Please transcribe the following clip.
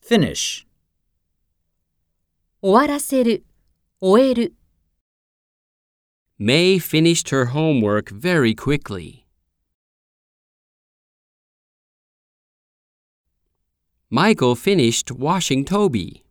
Finish. 終わらせる、終える。 May finished her homework very quickly. Michael finished washing Toby.